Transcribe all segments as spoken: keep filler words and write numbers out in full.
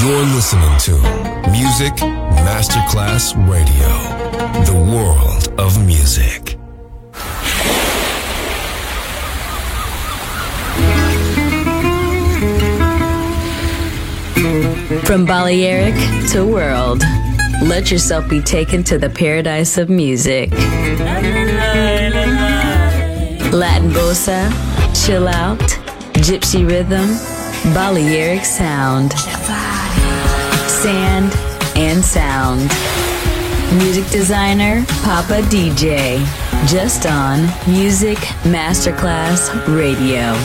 You're listening to Music Masterclass Radio, the world of music. From Balearic to world, let yourself be taken to the paradise of music. Latin bossa, chill out, gypsy rhythm, Balearic sound, sand and sound. Music designer, Papa D J, just on Music Masterclass Radio.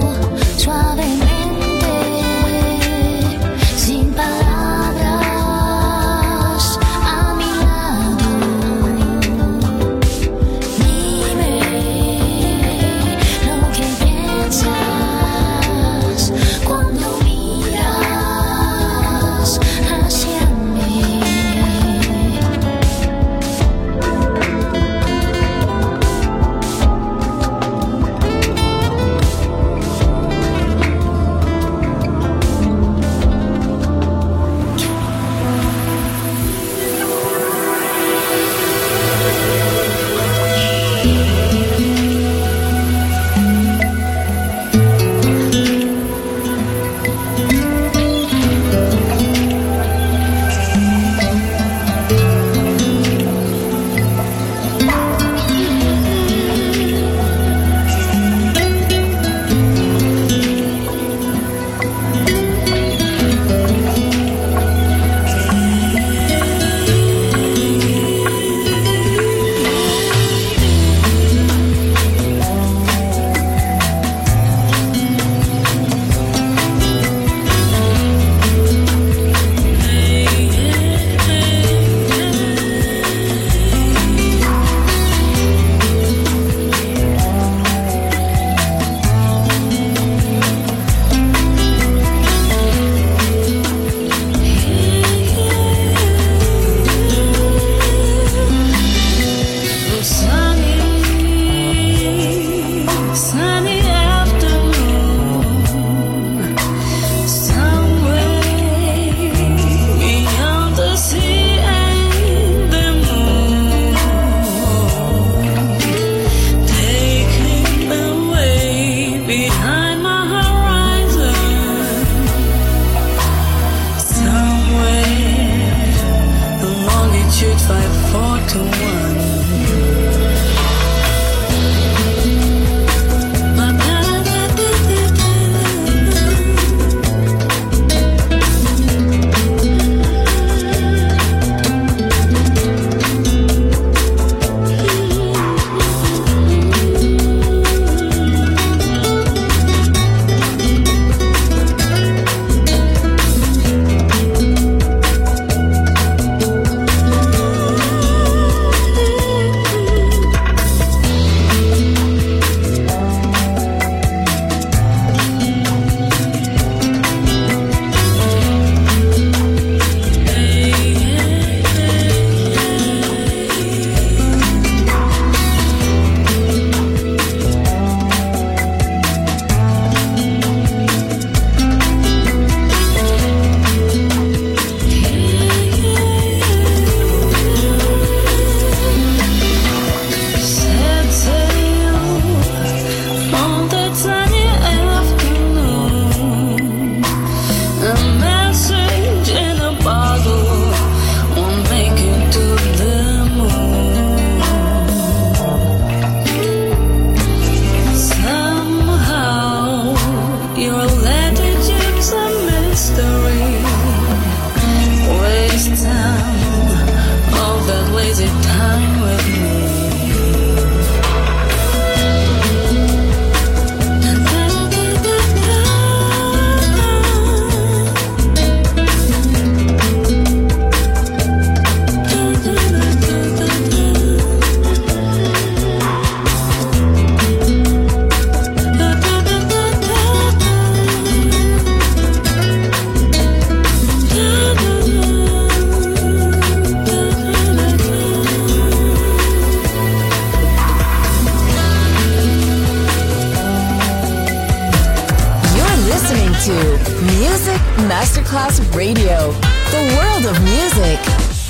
Suavemente, sin palabras. crazy time with me. Music Masterclass Radio, the world of music.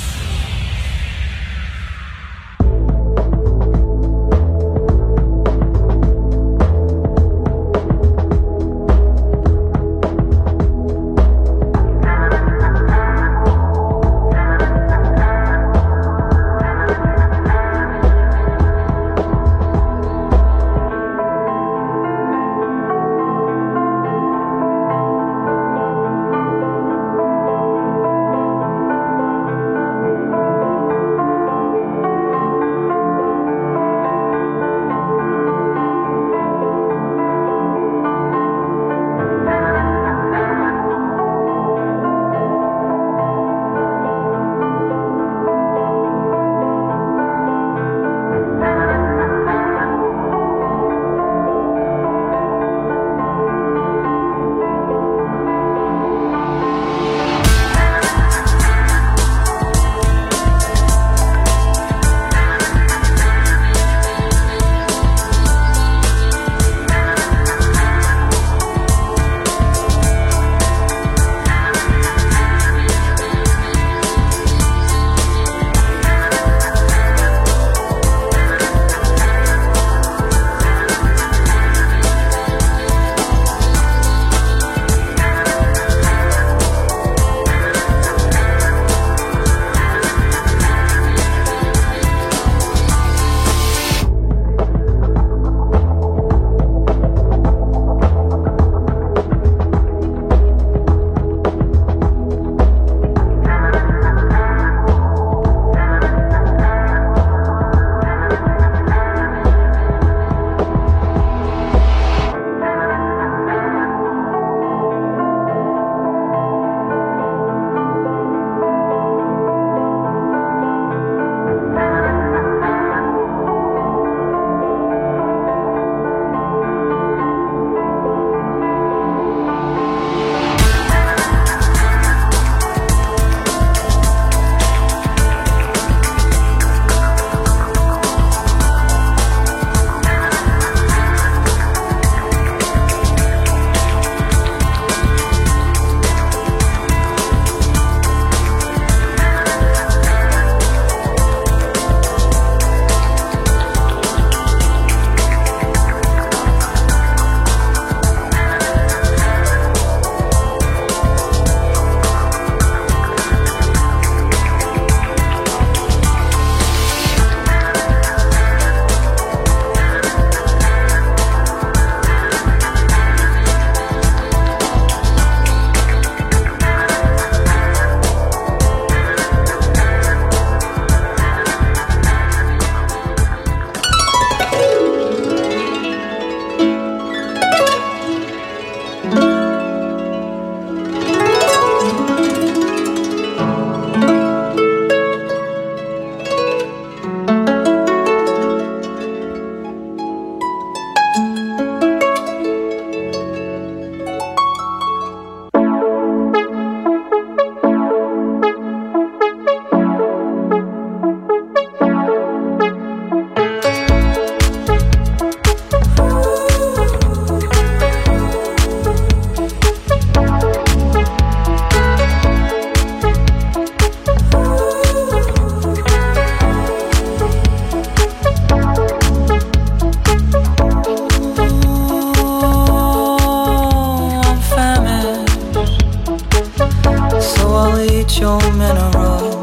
your minerals.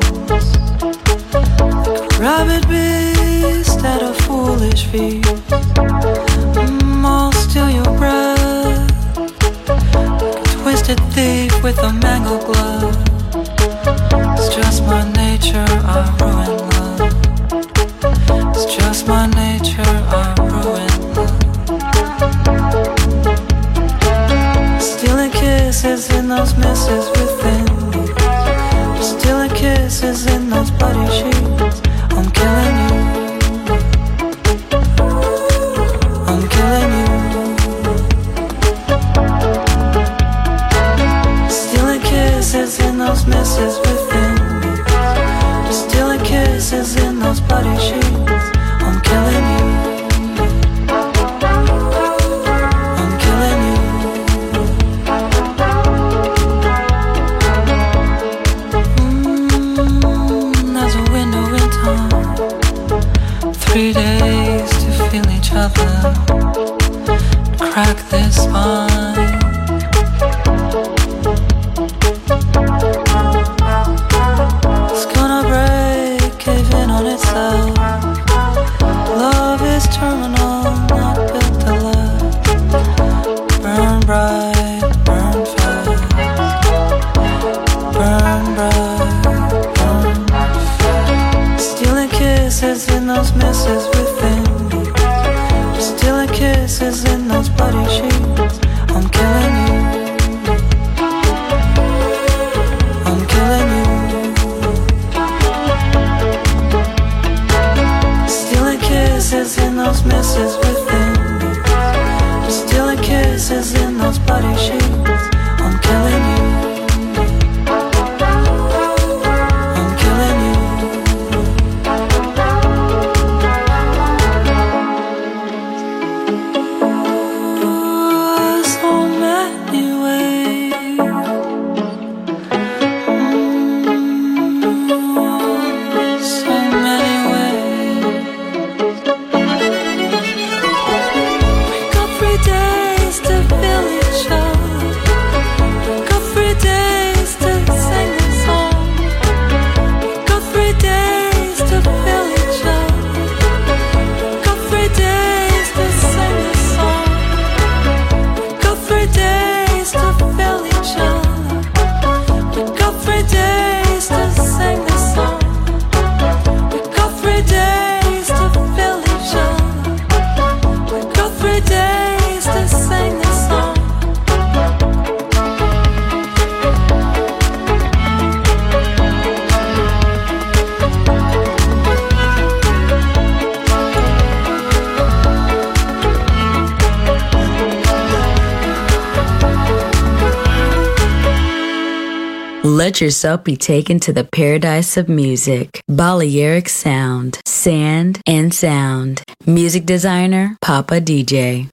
Like a rabid beast at a foolish feast. Mm, I'll steal your breath. Like a twisted thief with a mangled glove. It's just my nature, I ruin love. sheets. I'm killing you. I'm killing you. Stealing kisses in those misses within me. Stealing kisses in those bloody sheets. I'm killing you. I'm killing you. Mm, there's a window in time. Three days to feel each other. Crack this spine. It's gonna break, cave in on itself. Love is terminal, not built to last. Burn bright, burn fast. Burn bright, burn fast. Stealing kisses in those misses within me. Stealing kisses in those bloody sheets. I'm killing you. I'm killing you. Stealing kisses in those misses within me. Stealing kisses in those bloody sheets. I'm killing you. I'm killing you. So many ways. Mm, so many ways. We got three days to feel each other. We got three days to sing the song. We got three days to feel each other. We got three days to sing the song. We got three days to feel each other. We got three days to sing the song. We got three days to feel each other. We got three days to sing the song. Let yourself be taken to the paradise of music. Balearic Sound, Sand and Sound. Music designer, Papa D J.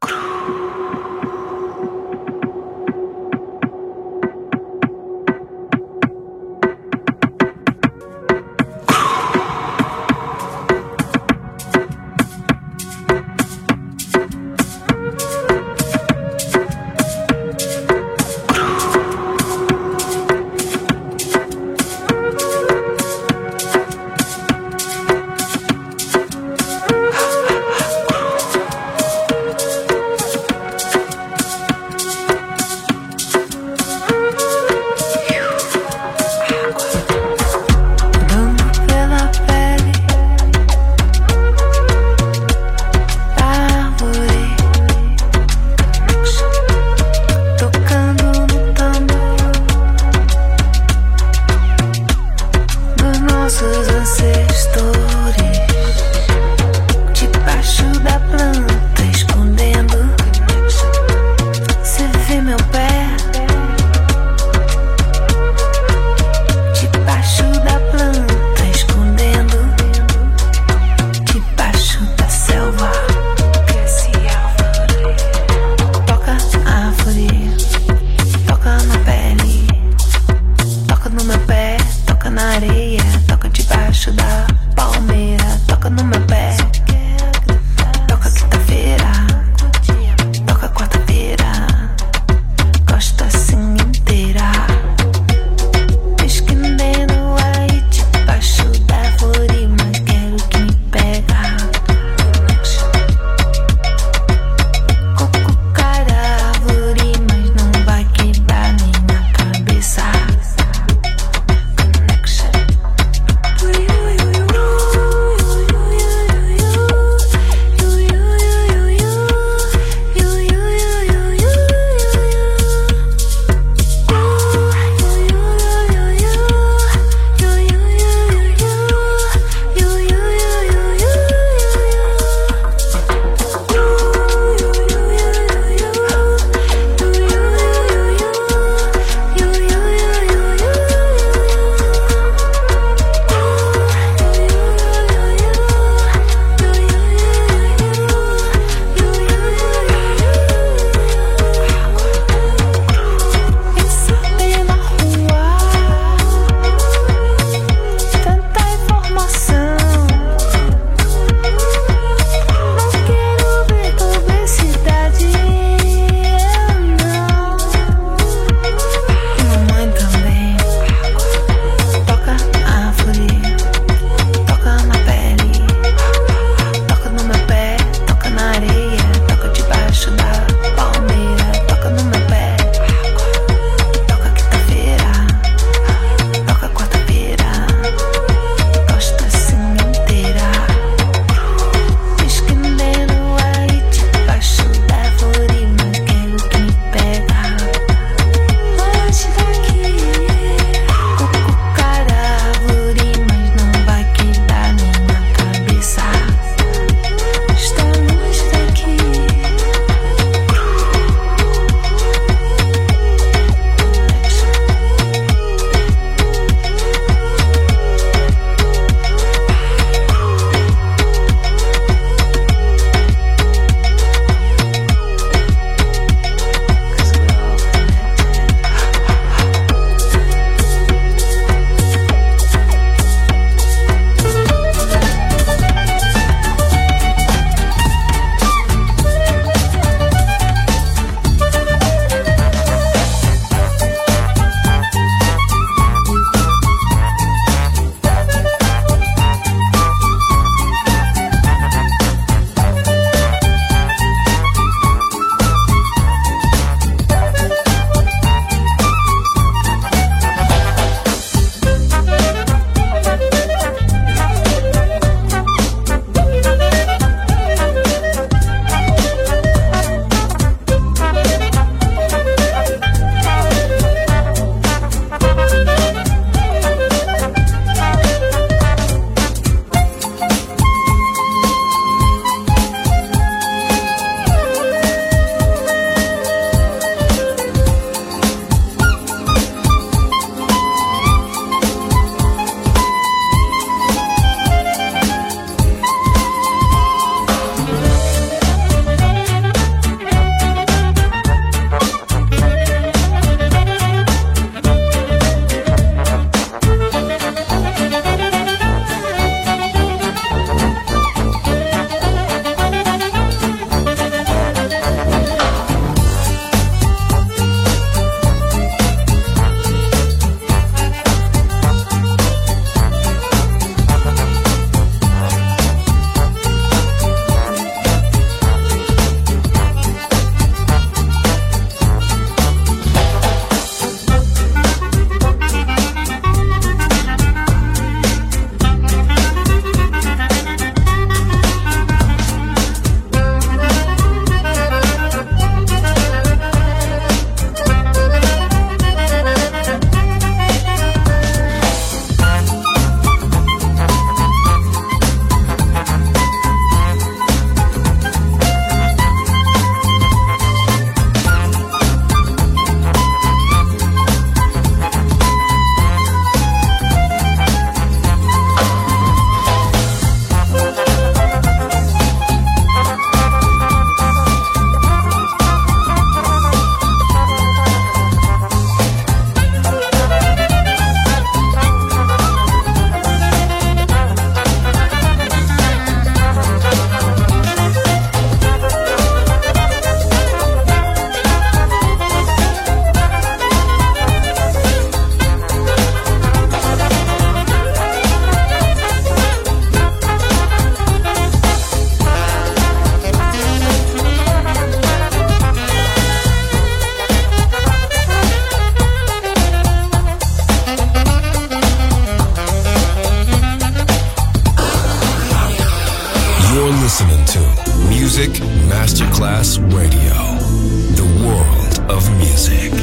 listening to Music Masterclass Radio, the world of music.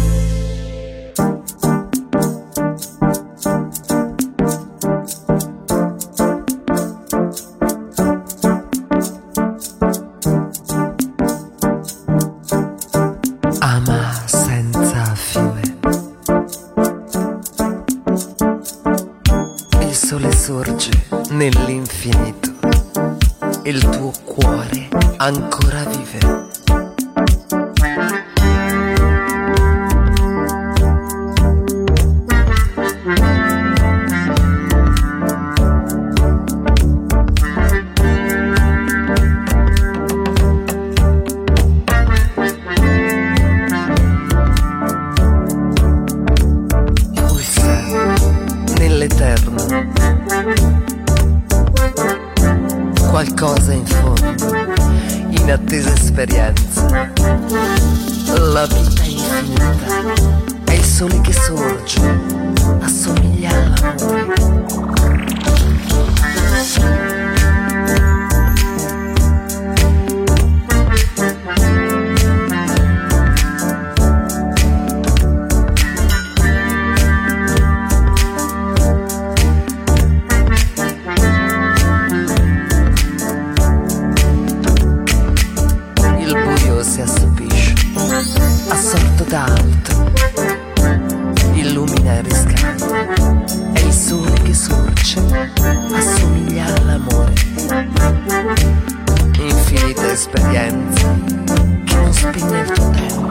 Ama senza fine. Il sole sorge nell'infinito. Il tuo cuore ancora vive. Qualcosa in fondo, inattesa esperienza. La vita è infinita, è il sole che sorge, assomiglia all'amore. D'altro illumina e riscalda, è il sole che sorge, assomiglia all'amore. Infinita esperienza che non spegne il tuo tempo.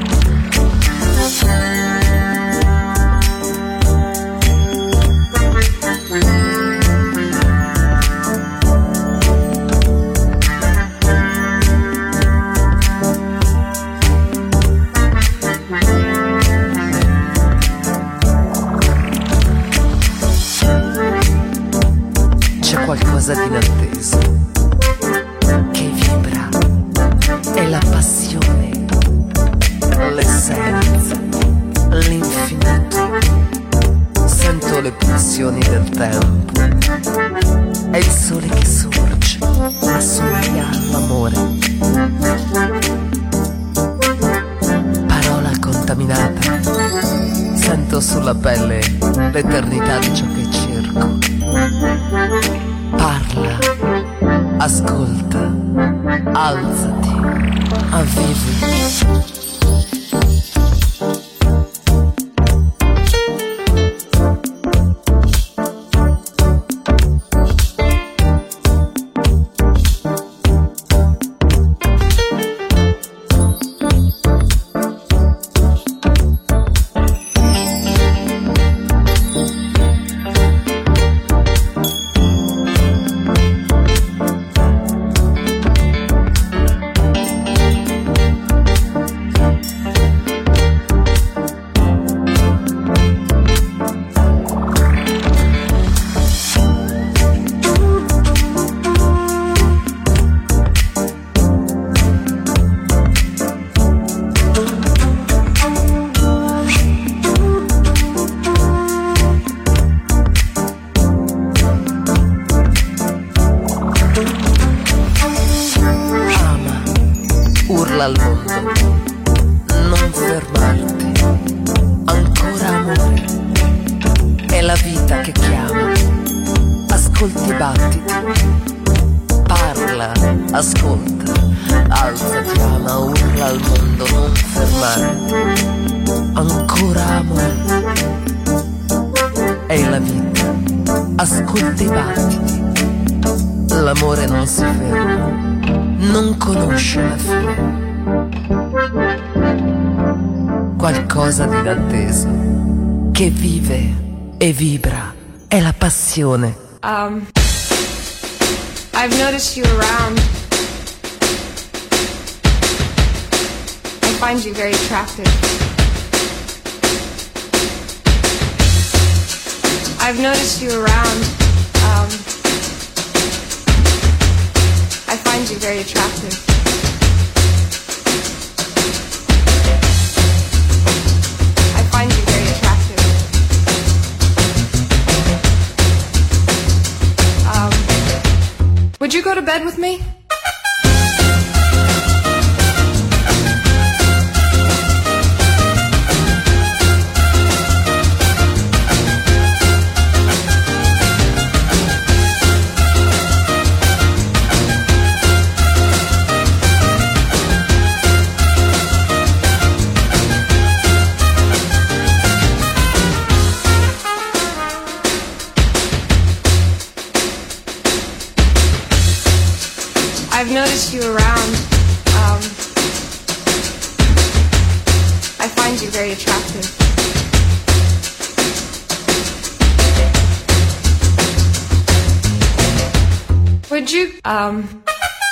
Qualcosa di inatteso che vibra, è la passione, l'essenza, l'infinito. Sento le pulsioni del tempo, è il sole che sorge, assomiglia all'amore. Parola contaminata, sento sulla pelle l'eternità di ciò che cerco. Parla, ascolta, alzati, avvivi. Al mondo, non fermarti, ancora amore, è la vita che chiama, ascolti i battiti, parla, ascolta, alzati, ama, urla al mondo, non fermarti, ancora amore, è la vita, ascolti i battiti, l'amore non si ferma, non conosce la fine. Qualcosa di inatteso che vive e vibra, è la passione. Um, I've noticed you around. I find you very attractive. I've noticed you around. Um, I find you very attractive. Would you go to bed with me? I've noticed you around. Um, I find you very attractive. Would you, um...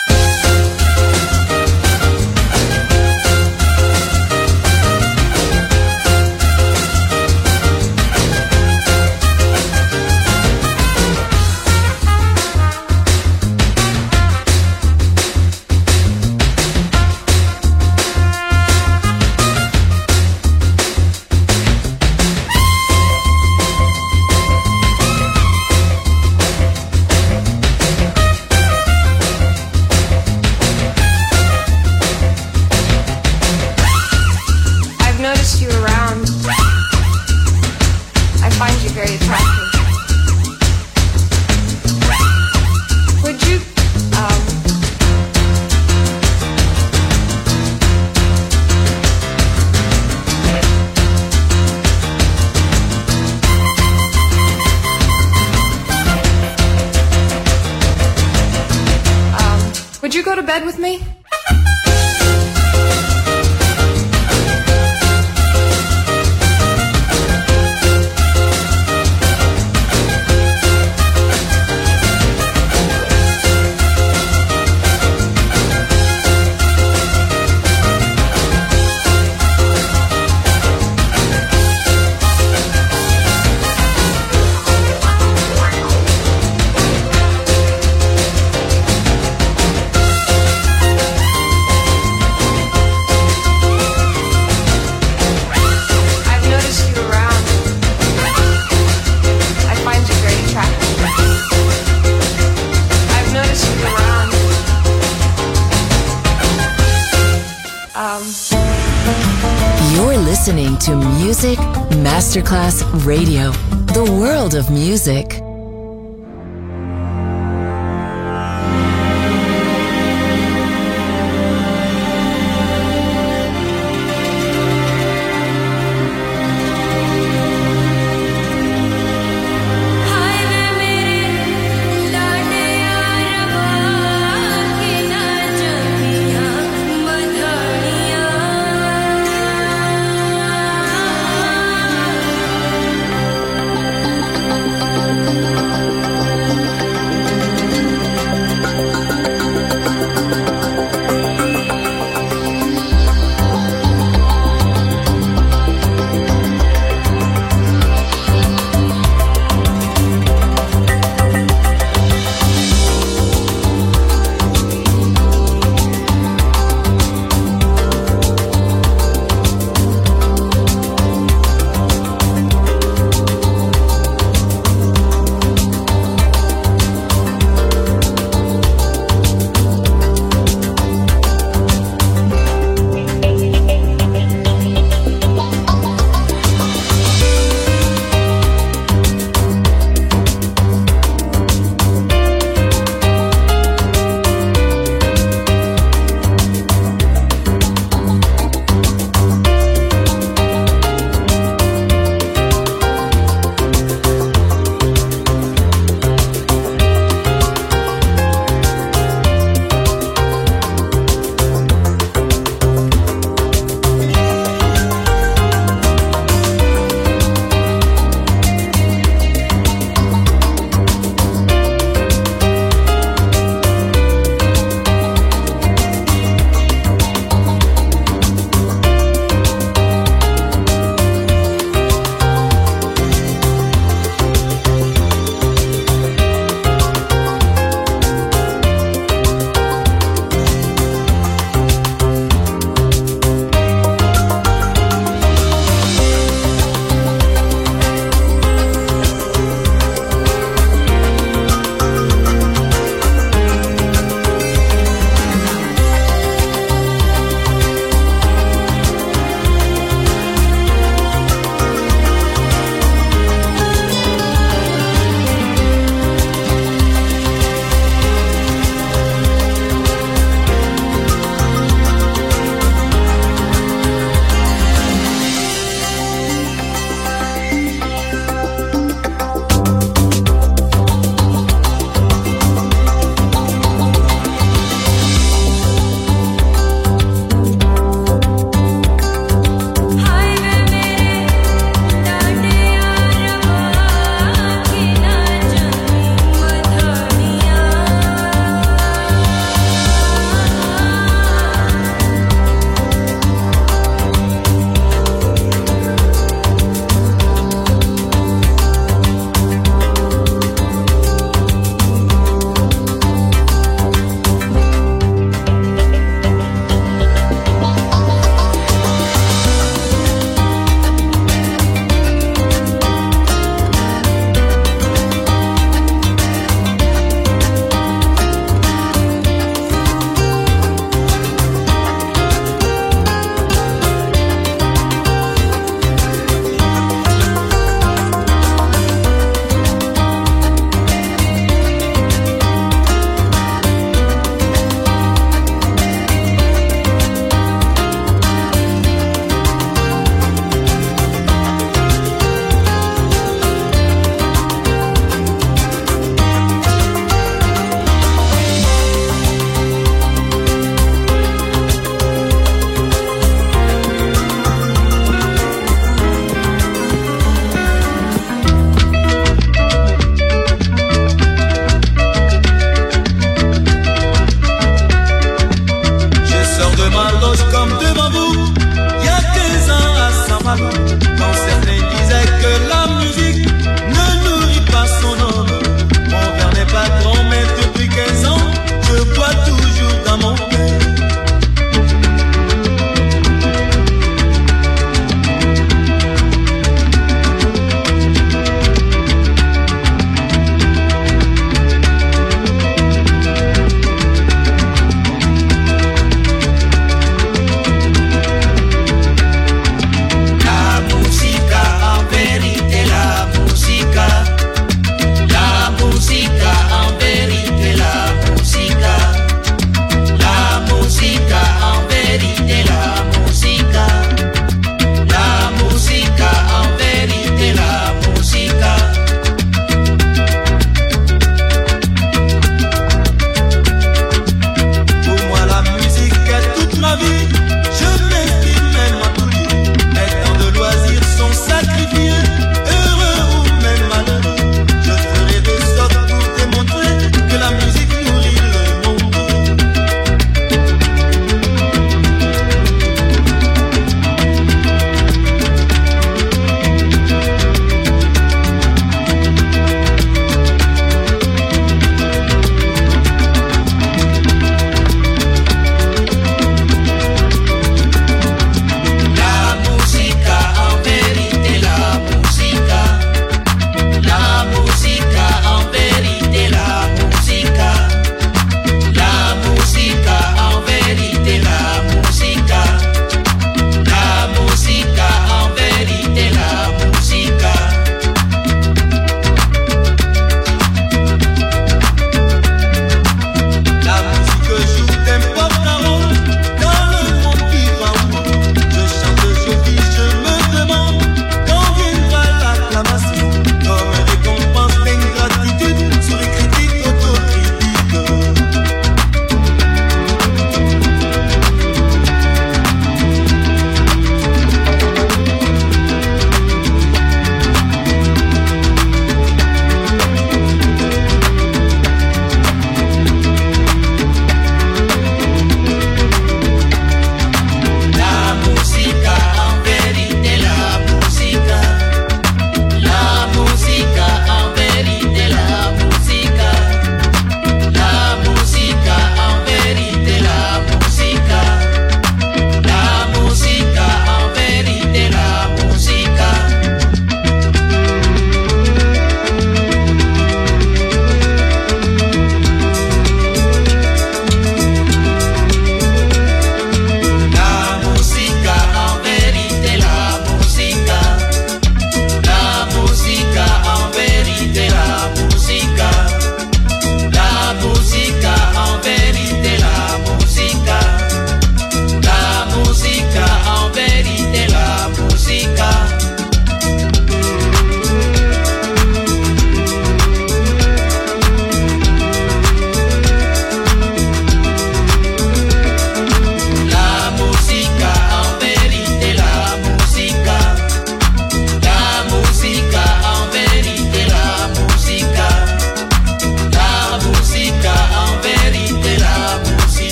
Would you go to bed with me? You're listening to Music Masterclass Radio, the world of music. Thank you.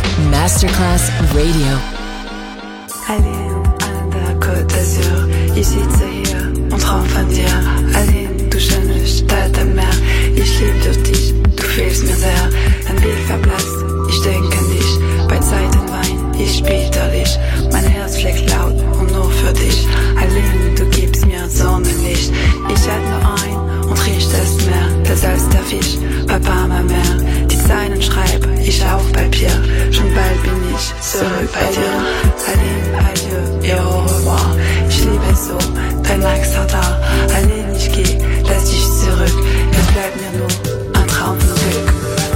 Masterclass Radio. Aline an der Côte d'Azur, ich sitze hier und traum von dir. Aline, du schöne Stadt am Meer, ich lieb durch dich, du fehlst mir sehr. Dein Blick verblasst, ich denke an dich, bei Zeitenwein, ich spiel dich. Mein Herz schlägt laut und nur für dich. Aline, du gibst mir Sonnenlicht. Ich halt nur ein und riech das Meer, das als der Fisch, Papa, ma Meer. Die Zeilen schreib ich auf Papier, schon bald bin ich zurück bei dir. Aline, adieu et au revoir. Ich liebe es so, dein Accent da. Aline, ich geh, lass dich zurück. Es bleibt mir nur ein Traum von Glück.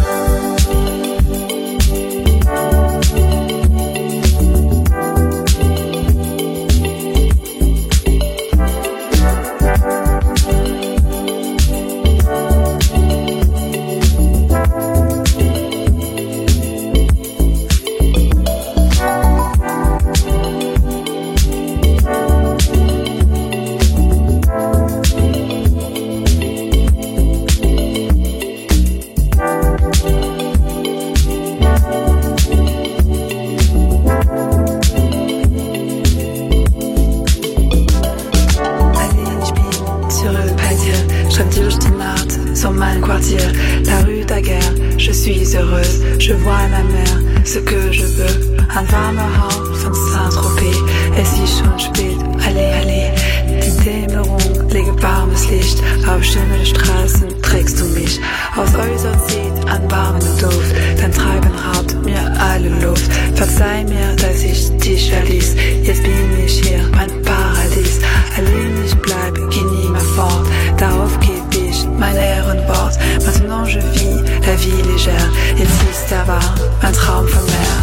La rue Daguerre, je suis heureuse, je vois la mer, ce que je veux. Ein warmer Hauch von Saint-Tropez, es ist schon spät, allez, allez. Die Dämmerung lege warmes Licht, auf schönen Straßen trägst du mich. Aus Häusern zieht ein warmen Duft, dein Treiben raubt mir alle Luft. Verzeih mir, dass ich dich verließ, jetzt bin ich hier, mein Paradies. Allein ich bleib, geh nie mehr fort, darauf geb ich mein Ehrenwort. Maintenant je vis la vie légère, jetzt ist da wahr, ein Traum vom Meer.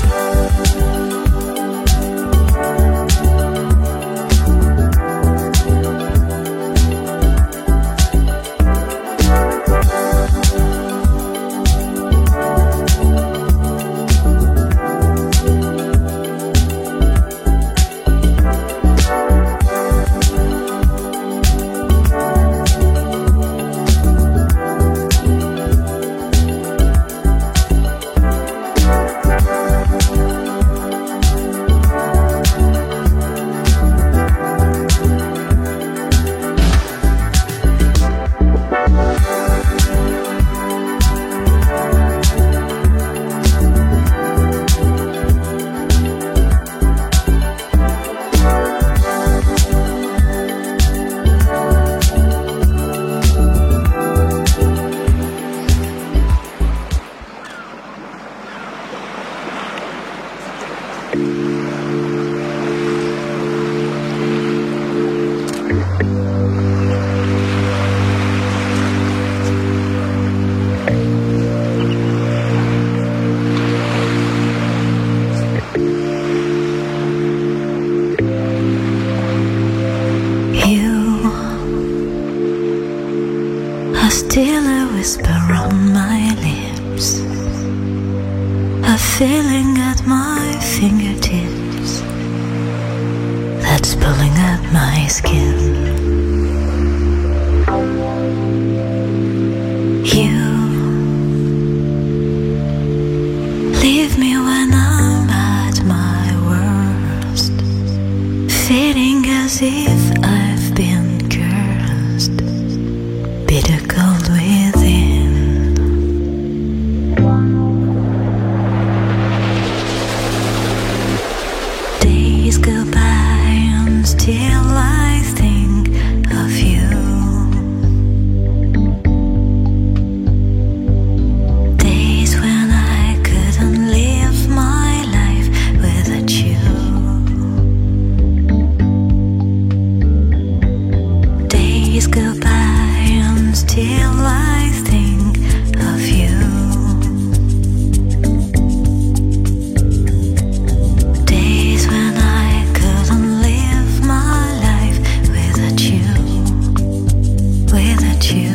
Still a whisper on my lips, a feeling at my fingertips that's pulling at my skin. You leave me when I'm at my worst, feeling as if I've been cursed, bitter cold within. Days go by and still I think of you. Days when I couldn't live my life without you. Days go by and still I think of you. Days when I couldn't live my life without you, without you.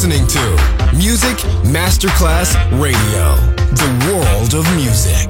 listening to Music Masterclass Radio, the world of music.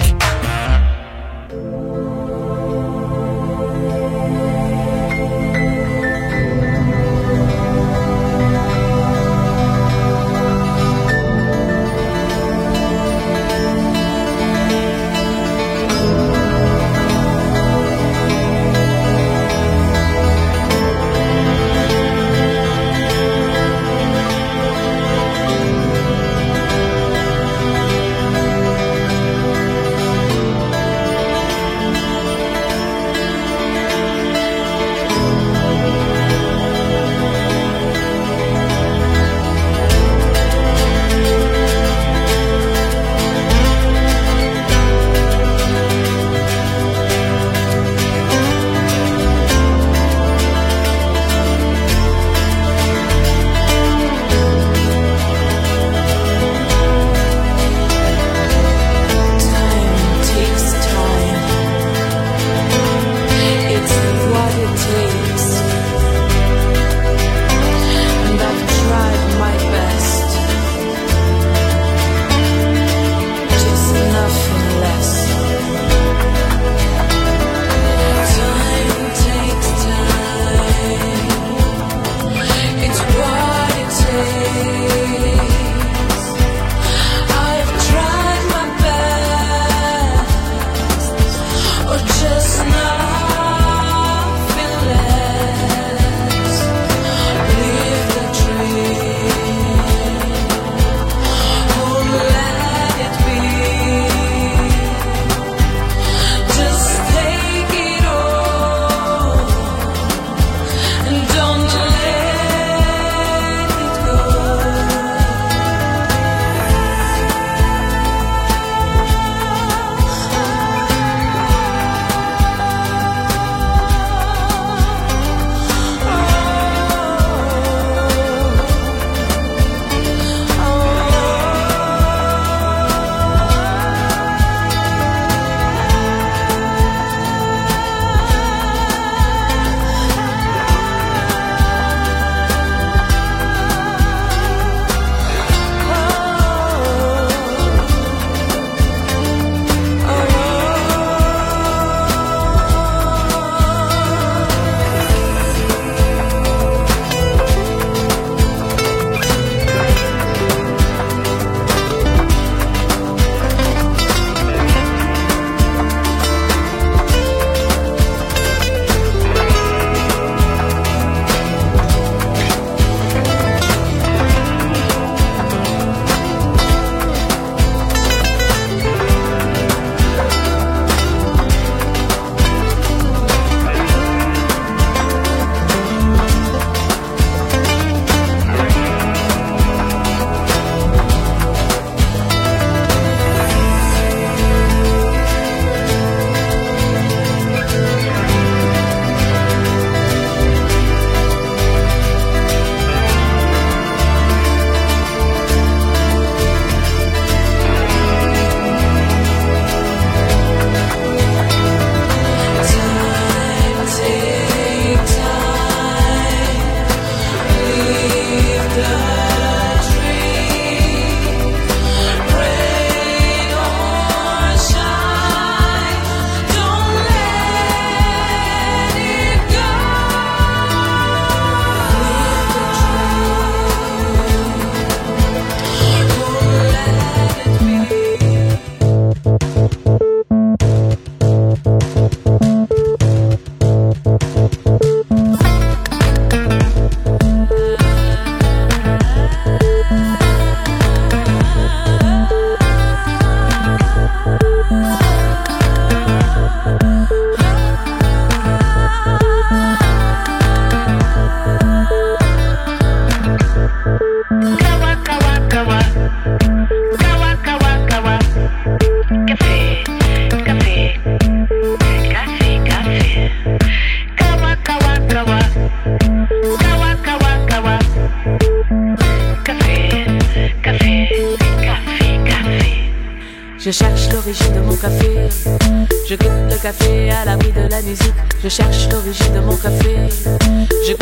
Je cherche l'origine de mon café. Je goûte le café à l'abri de la musique. Je cherche l'origine de mon café. Je goûte le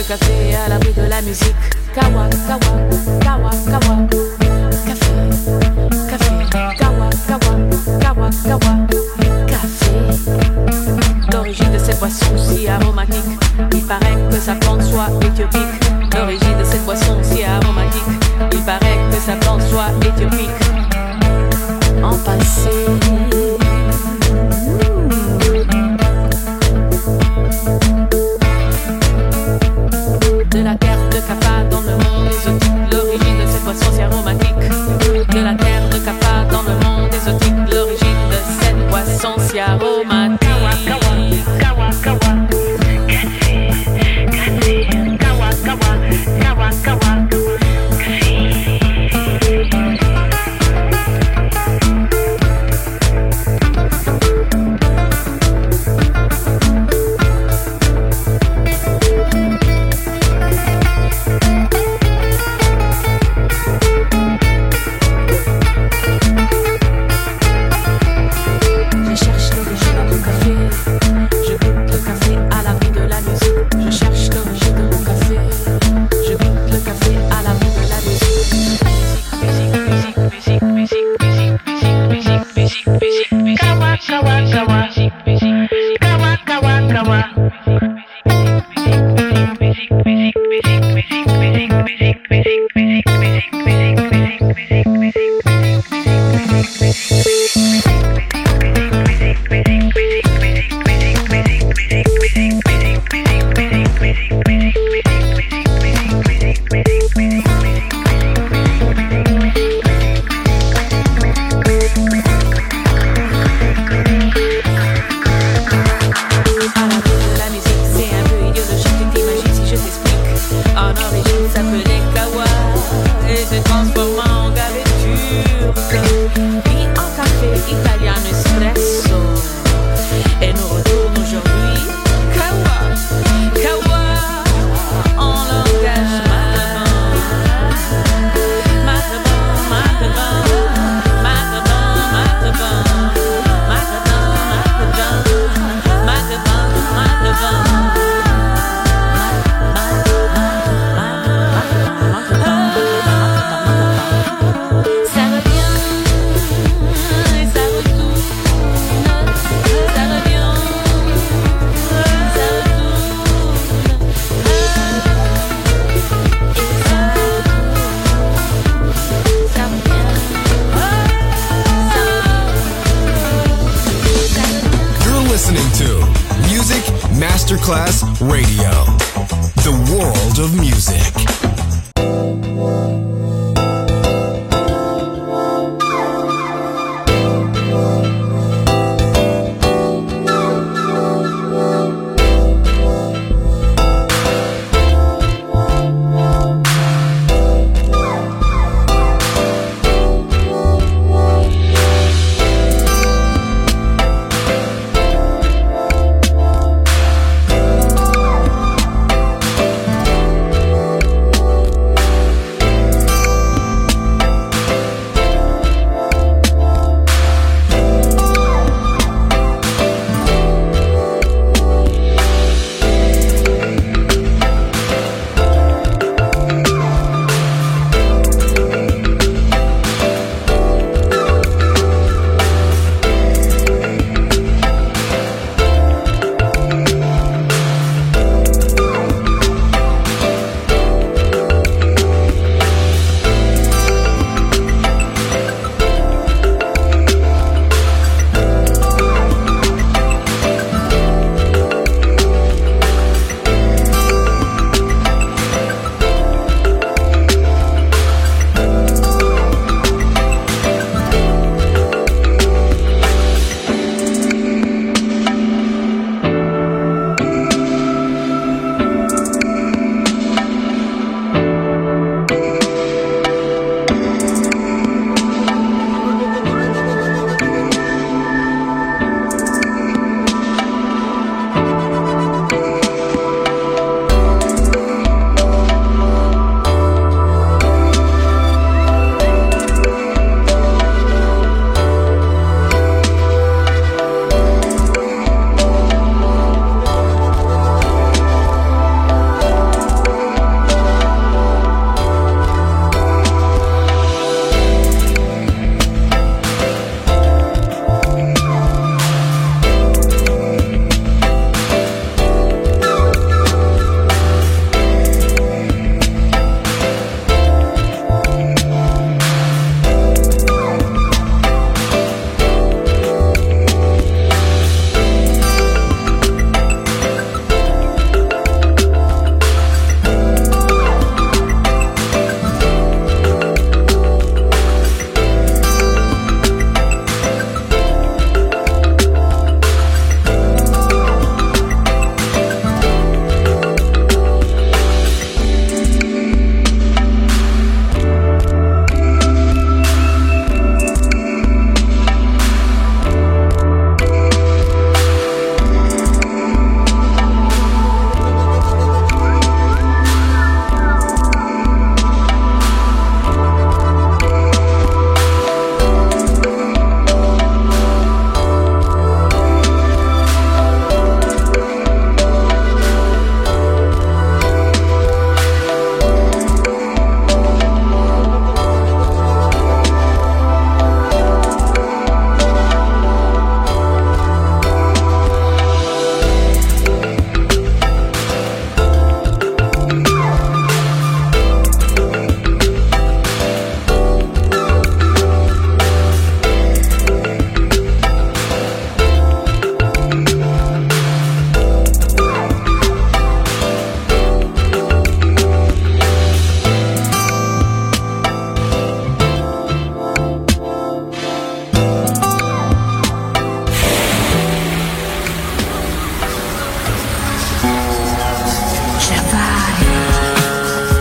café à l'abri de la musique. Kawa, kawa, kawa, kawa. Café, café, kawa, kawa, kawa, kawa. Café. L'origine de cette boisson si aromatique, il paraît que sa plante soit éthiopique. L'origine de cette boisson si aromatique, il paraît que sa plante soit éthiopique. En passé. De la terre de Kappa dans le monde exotique, l'origine de cette boisson si aromatique. De la terre de Kappa dans le monde exotique, l'origine de cette boisson si aromatique. Kawa, kawa, kawa, café, café, kawa, kawa, kawa, kawa. Masterclass Radio, the world of music.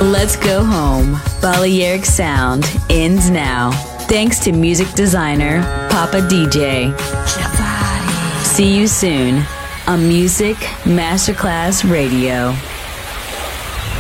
Let's go home. Balearic Sound ends now. Thanks to music designer Papa D J. See you soon on Music Masterclass Radio.